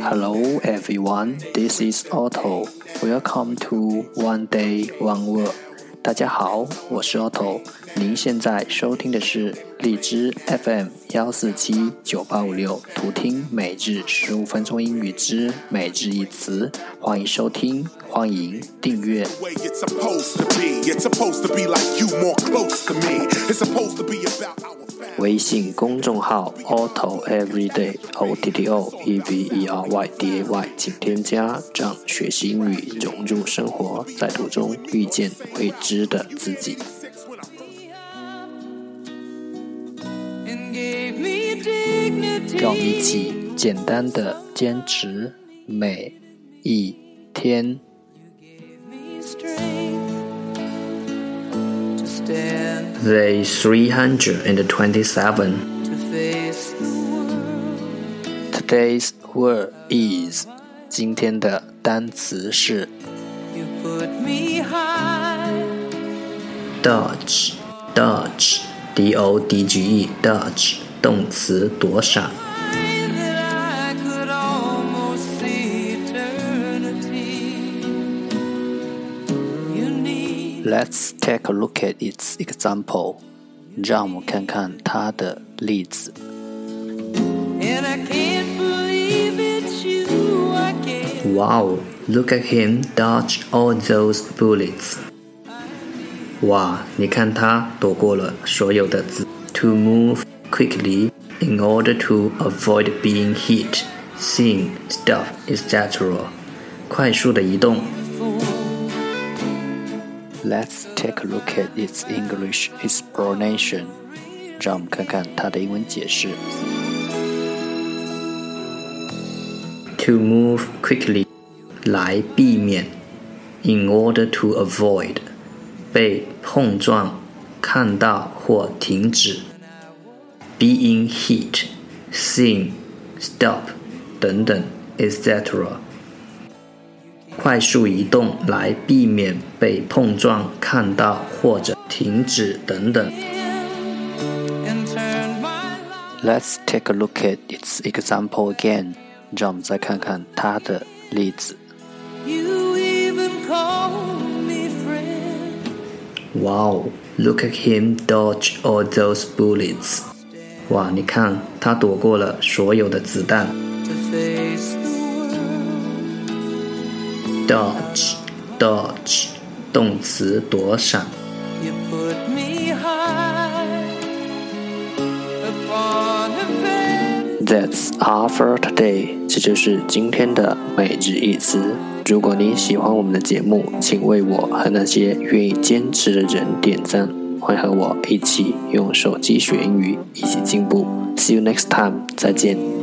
Hello everyone, this is Otto. Welcome to One Day One Word. 大家好，我是 Otto。您现在收听的是荔枝 FM 1479856，图听每日15分钟英语之每日一词。欢迎收听，欢迎订阅。微信公众号 Otto Everyday OTTO EVERYDAY， 请添加，让学习英语融入生活，在途中遇见未知的自己。让我们一起简单的坚持每一天。Day 327. Today's word is 今天的单词是 Dodge, D-O-D-G-E, Dodge 动词躲闪。Let's take a look at its example. 让我们看看它的例子。Wow, look at him dodge all those bullets. 哇，你看他躲过了所有的子。To move quickly in order to avoid being hit, seen, stop, etc. 快速的移动。Let's take a look at its English explanation. 让我们看看它的英文解释。To move quickly 来避免 in order to avoid 被碰撞、看到或停止 being hit, seen, stop 等等 etc. 快速移动来避免被碰撞、看到或者停止等等。Let's take a look at its example again. 让我们再看看它的例子。Wow, look at him dodge all those bullets. 哇，你看他躲过了所有的子弹。Dodge, dodge 动词躲闪。That's all for today. 这就是今天的每日一词。如果你喜欢我们的节目，请为我和那些愿意坚持的人点赞。欢迎和我一起用手机学英语，一起进步。See you next time. 再见。